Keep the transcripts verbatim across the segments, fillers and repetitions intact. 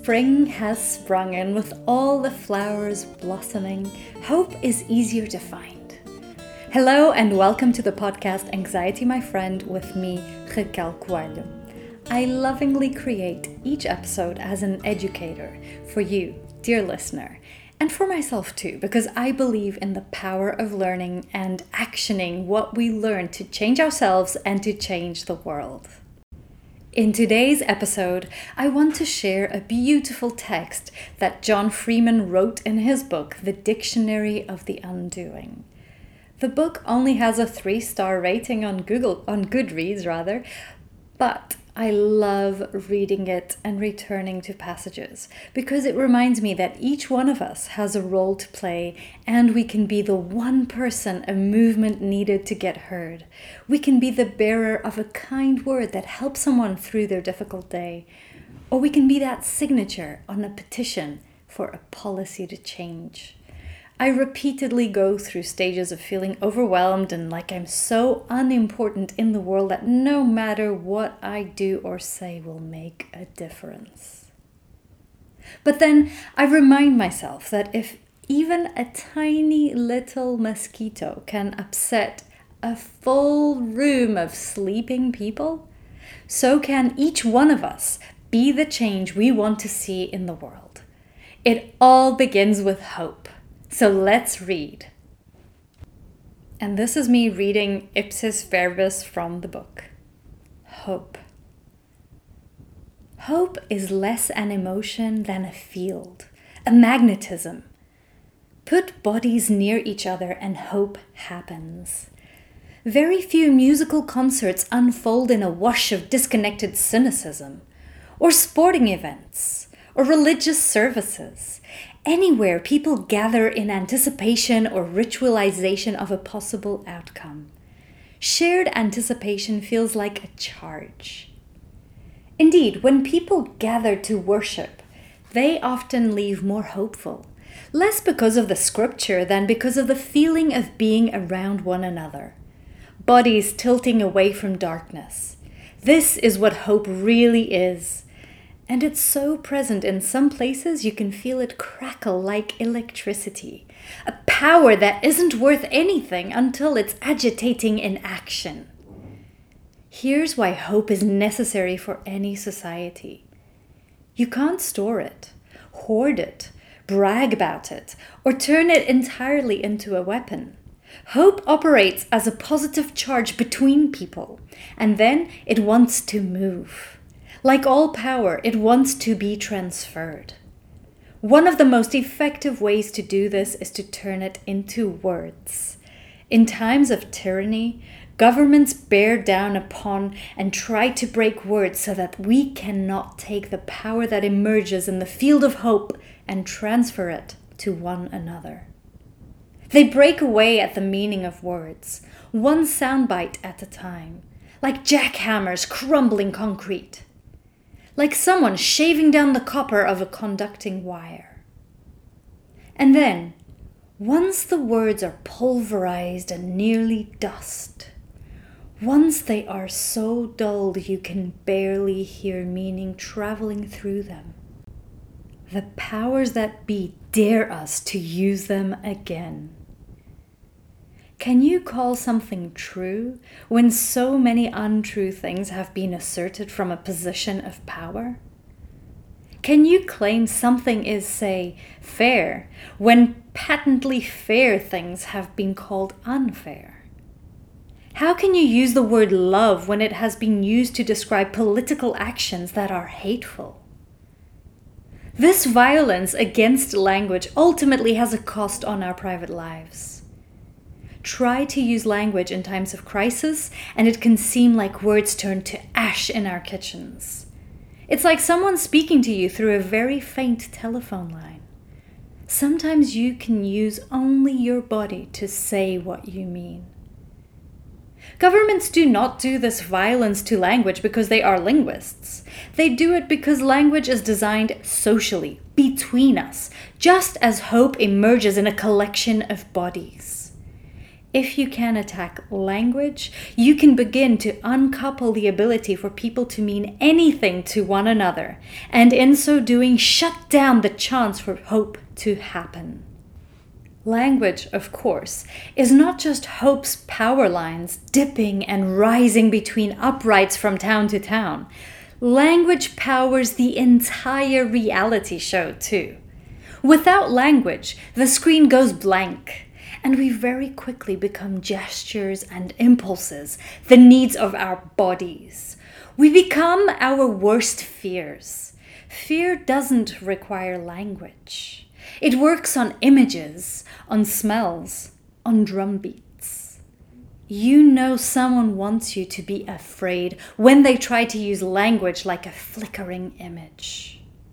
spring has sprung and with all the flowers blossoming, hope is easier to find. Hello and welcome to the podcast Anxiety My Friend with me, Raquel Coelho. I lovingly create each episode as an educator for you, dear listener, and for myself too, because I believe in the power of learning and actioning what we learn to change ourselves and to change the world. In today's episode, I want to share a beautiful text that John Freeman wrote in his book, The Dictionary of the Undoing. The book only has a three-star rating on Google, on Goodreads rather, but I love reading it and returning to passages because it reminds me that each one of us has a role to play and we can be the one person a movement needed to get heard. We can be the bearer of a kind word that helps someone through their difficult day. Or we can be that signature on a petition for a policy to change. I repeatedly go through stages of feeling overwhelmed and like I'm so unimportant in the world that no matter what I do or say will make a difference. But then I remind myself that if even a tiny little mosquito can upset a full room of sleeping people, so can each one of us be the change we want to see in the world. It all begins with hope. So let's read. And this is me reading ipsis verbis from the book. Hope. Hope is less an emotion than a field, a magnetism. Put bodies near each other and hope happens. Very few musical concerts unfold in a wash of disconnected cynicism, or sporting events, or religious services. Anywhere people gather in anticipation or ritualization of a possible outcome. Shared anticipation feels like a charge. Indeed, when people gather to worship, they often leave more hopeful, less because of the scripture than because of the feeling of being around one another. Bodies tilting away from darkness. This is what hope really is. And it's so present in some places you can feel it crackle like electricity. A power that isn't worth anything until it's agitating in action. Here's why hope is necessary for any society. You can't store it, hoard it, brag about it, or turn it entirely into a weapon. Hope operates as a positive charge between people, and then it wants to move. Like all power, it wants to be transferred. One of the most effective ways to do this is to turn it into words. In times of tyranny, governments bear down upon and try to break words so that we cannot take the power that emerges in the field of hope and transfer it to one another. They break away at the meaning of words, one soundbite at a time, like jackhammers crumbling concrete. Like someone shaving down the copper of a conducting wire. And then, once the words are pulverized and nearly dust, once they are so dulled you can barely hear meaning traveling through them, the powers that be dare us to use them again. Can you call something true when so many untrue things have been asserted from a position of power? Can you claim something is, say, fair when patently fair things have been called unfair? How can you use the word love when it has been used to describe political actions that are hateful? This violence against language ultimately has a cost on our private lives. Try to use language in times of crisis, and it can seem like words turn to ash in our kitchens. It's like someone speaking to you through a very faint telephone line. Sometimes you can use only your body to say what you mean. Governments do not do this violence to language because they are linguists. They do it because language is designed socially, between us, just as hope emerges in a collection of bodies. If you can attack language, you can begin to uncouple the ability for people to mean anything to one another, and in so doing, shut down the chance for hope to happen. Language, of course, is not just hope's power lines dipping and rising between uprights from town to town. Language powers the entire reality show, too. Without language, the screen goes blank, and we very quickly become gestures and impulses, the needs of our bodies. We become our worst fears. Fear doesn't require language. It works on images, on smells, on drum beats. You know someone wants you to be afraid when they try to use language like a flickering image.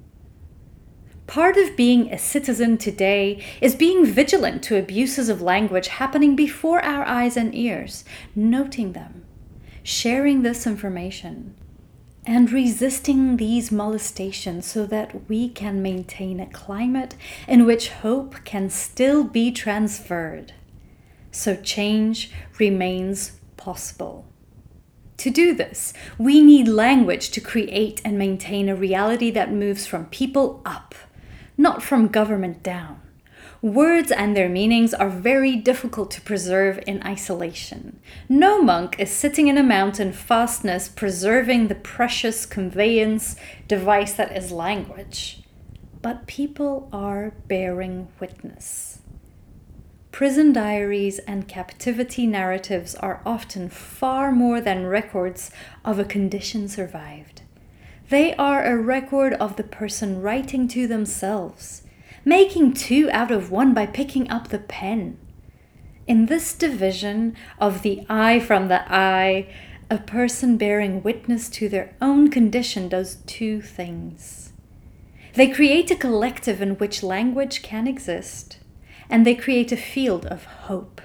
Part of being a citizen today is being vigilant to abuses of language happening before our eyes and ears, noting them, sharing this information, and resisting these molestations so that we can maintain a climate in which hope can still be transferred, so change remains possible. To do this, we need language to create and maintain a reality that moves from people up, not from government down. Words and their meanings are very difficult to preserve in isolation. No monk is sitting in a mountain fastness preserving the precious conveyance device that is language. But people are bearing witness. Prison diaries and captivity narratives are often far more than records of a condition survived. They are a record of the person writing to themselves, making two out of one by picking up the pen. In this division of the I from the I, a person bearing witness to their own condition does two things. They create a collective in which language can exist, and they create a field of hope.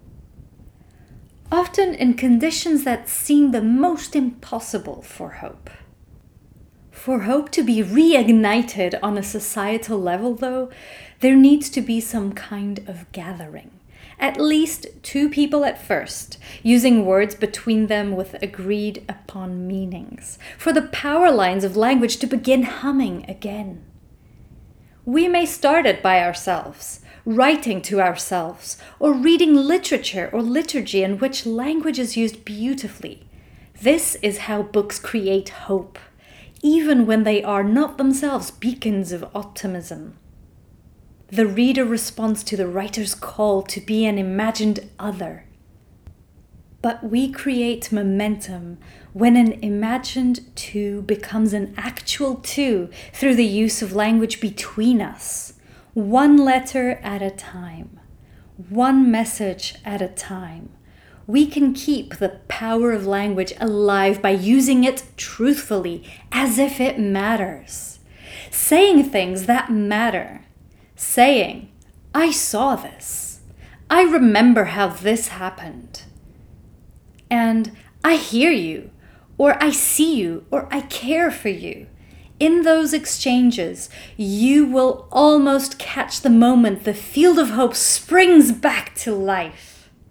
Often in conditions that seem the most impossible for hope. For hope to be reignited on a societal level, though, there needs to be some kind of gathering. At least two people at first, using words between them with agreed upon meanings, for the power lines of language to begin humming again. We may start it by ourselves, writing to ourselves, or reading literature or liturgy in which language is used beautifully. This is how books create hope, even when they are not themselves beacons of optimism. The reader responds to the writer's call to be an imagined other. But we create momentum when an imagined two becomes an actual two through the use of language between us, one letter at a time, one message at a time. We can keep the power of language alive by using it truthfully, as if it matters. Saying things that matter. Saying, I saw this. I remember how this happened. And I hear you, or I see you, or I care for you. In those exchanges, you will almost catch the moment the field of hope springs back to life.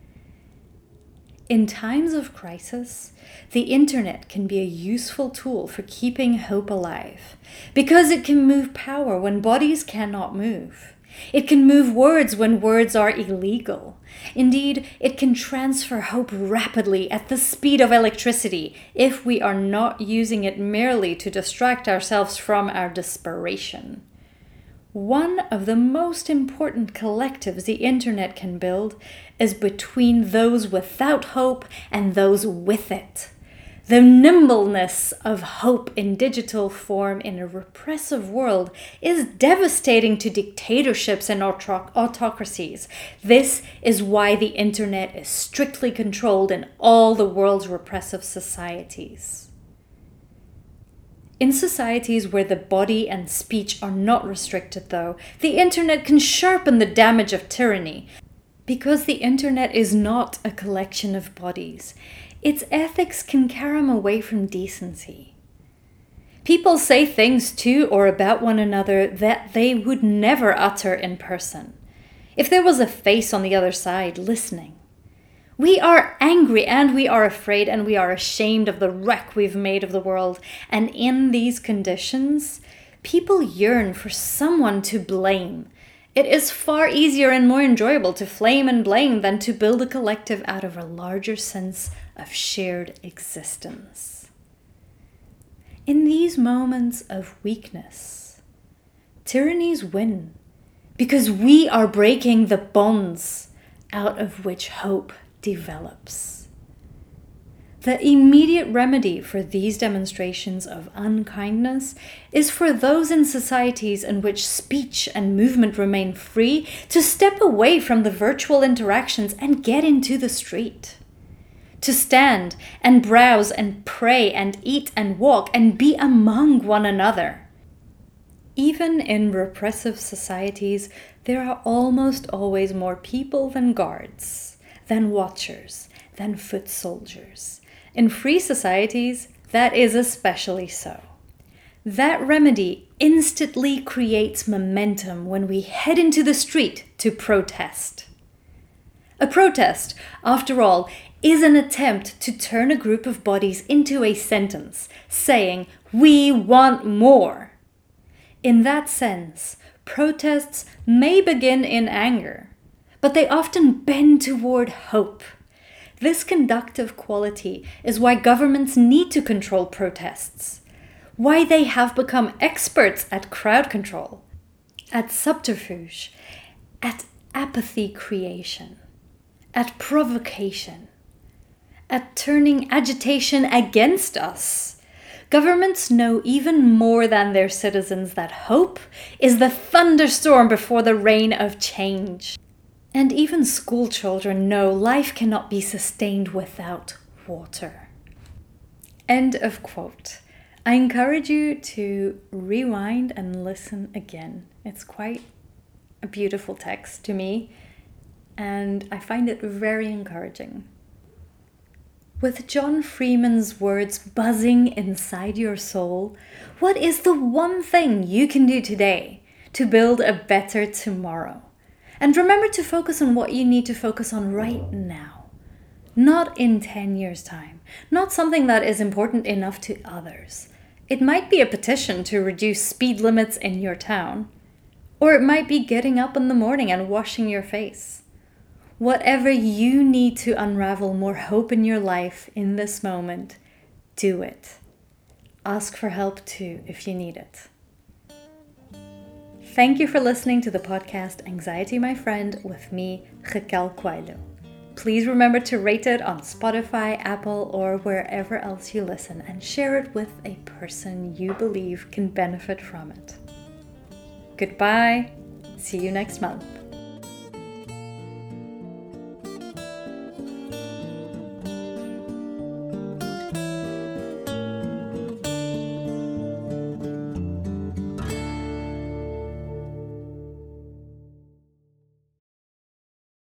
In times of crisis, the internet can be a useful tool for keeping hope alive, because it can move power when bodies cannot move. It can move words when words are illegal. Indeed, it can transfer hope rapidly at the speed of electricity if we are not using it merely to distract ourselves from our desperation. One of the most important collectives the internet can build is between those without hope and those with it. The nimbleness of hope in digital form in a repressive world is devastating to dictatorships and autoc- autocracies. This is why the internet is strictly controlled in all the world's repressive societies. In societies where the body and speech are not restricted, though, the internet can sharpen the damage of tyranny. Because the internet is not a collection of bodies, its ethics can carry them away from decency. People say things to or about one another that they would never utter in person, if there was a face on the other side listening. We are angry and we are afraid and we are ashamed of the wreck we've made of the world. And in these conditions, people yearn for someone to blame. It is far easier and more enjoyable to flame and blame than to build a collective out of a larger sense of shared existence. In these moments of weakness, tyrannies win because we are breaking the bonds out of which hope develops. The immediate remedy for these demonstrations of unkindness is for those in societies in which speech and movement remain free to step away from the virtual interactions and get into the street. To stand and browse and pray and eat and walk and be among one another. Even in repressive societies, there are almost always more people than guards, than watchers, than foot soldiers. In free societies, that is especially so. That remedy instantly creates momentum when we head into the street to protest. A protest, after all, is an attempt to turn a group of bodies into a sentence, saying, "We want more." In that sense, protests may begin in anger, but they often bend toward hope. This conductive quality is why governments need to control protests, why they have become experts at crowd control, at subterfuge, at apathy creation, at provocation, at turning agitation against us. Governments know even more than their citizens that hope is the thunderstorm before the rain of change. And even school children know life cannot be sustained without water. End of quote. I encourage you to rewind and listen again. It's quite a beautiful text to me, and I find it very encouraging. With John Freeman's words buzzing inside your soul, what is the one thing you can do today to build a better tomorrow? And remember to focus on what you need to focus on right now, not in ten years' time, not something that is important enough to others. It might be a petition to reduce speed limits in your town, or it might be getting up in the morning and washing your face. Whatever you need to unravel more hope in your life in this moment, do it. Ask for help too if you need it. Thank you for listening to the podcast Anxiety My Friend with me, Raquel Coelho. Please remember to rate it on Spotify, Apple, or wherever else you listen, and share it with a person you believe can benefit from it. Goodbye. See you next month.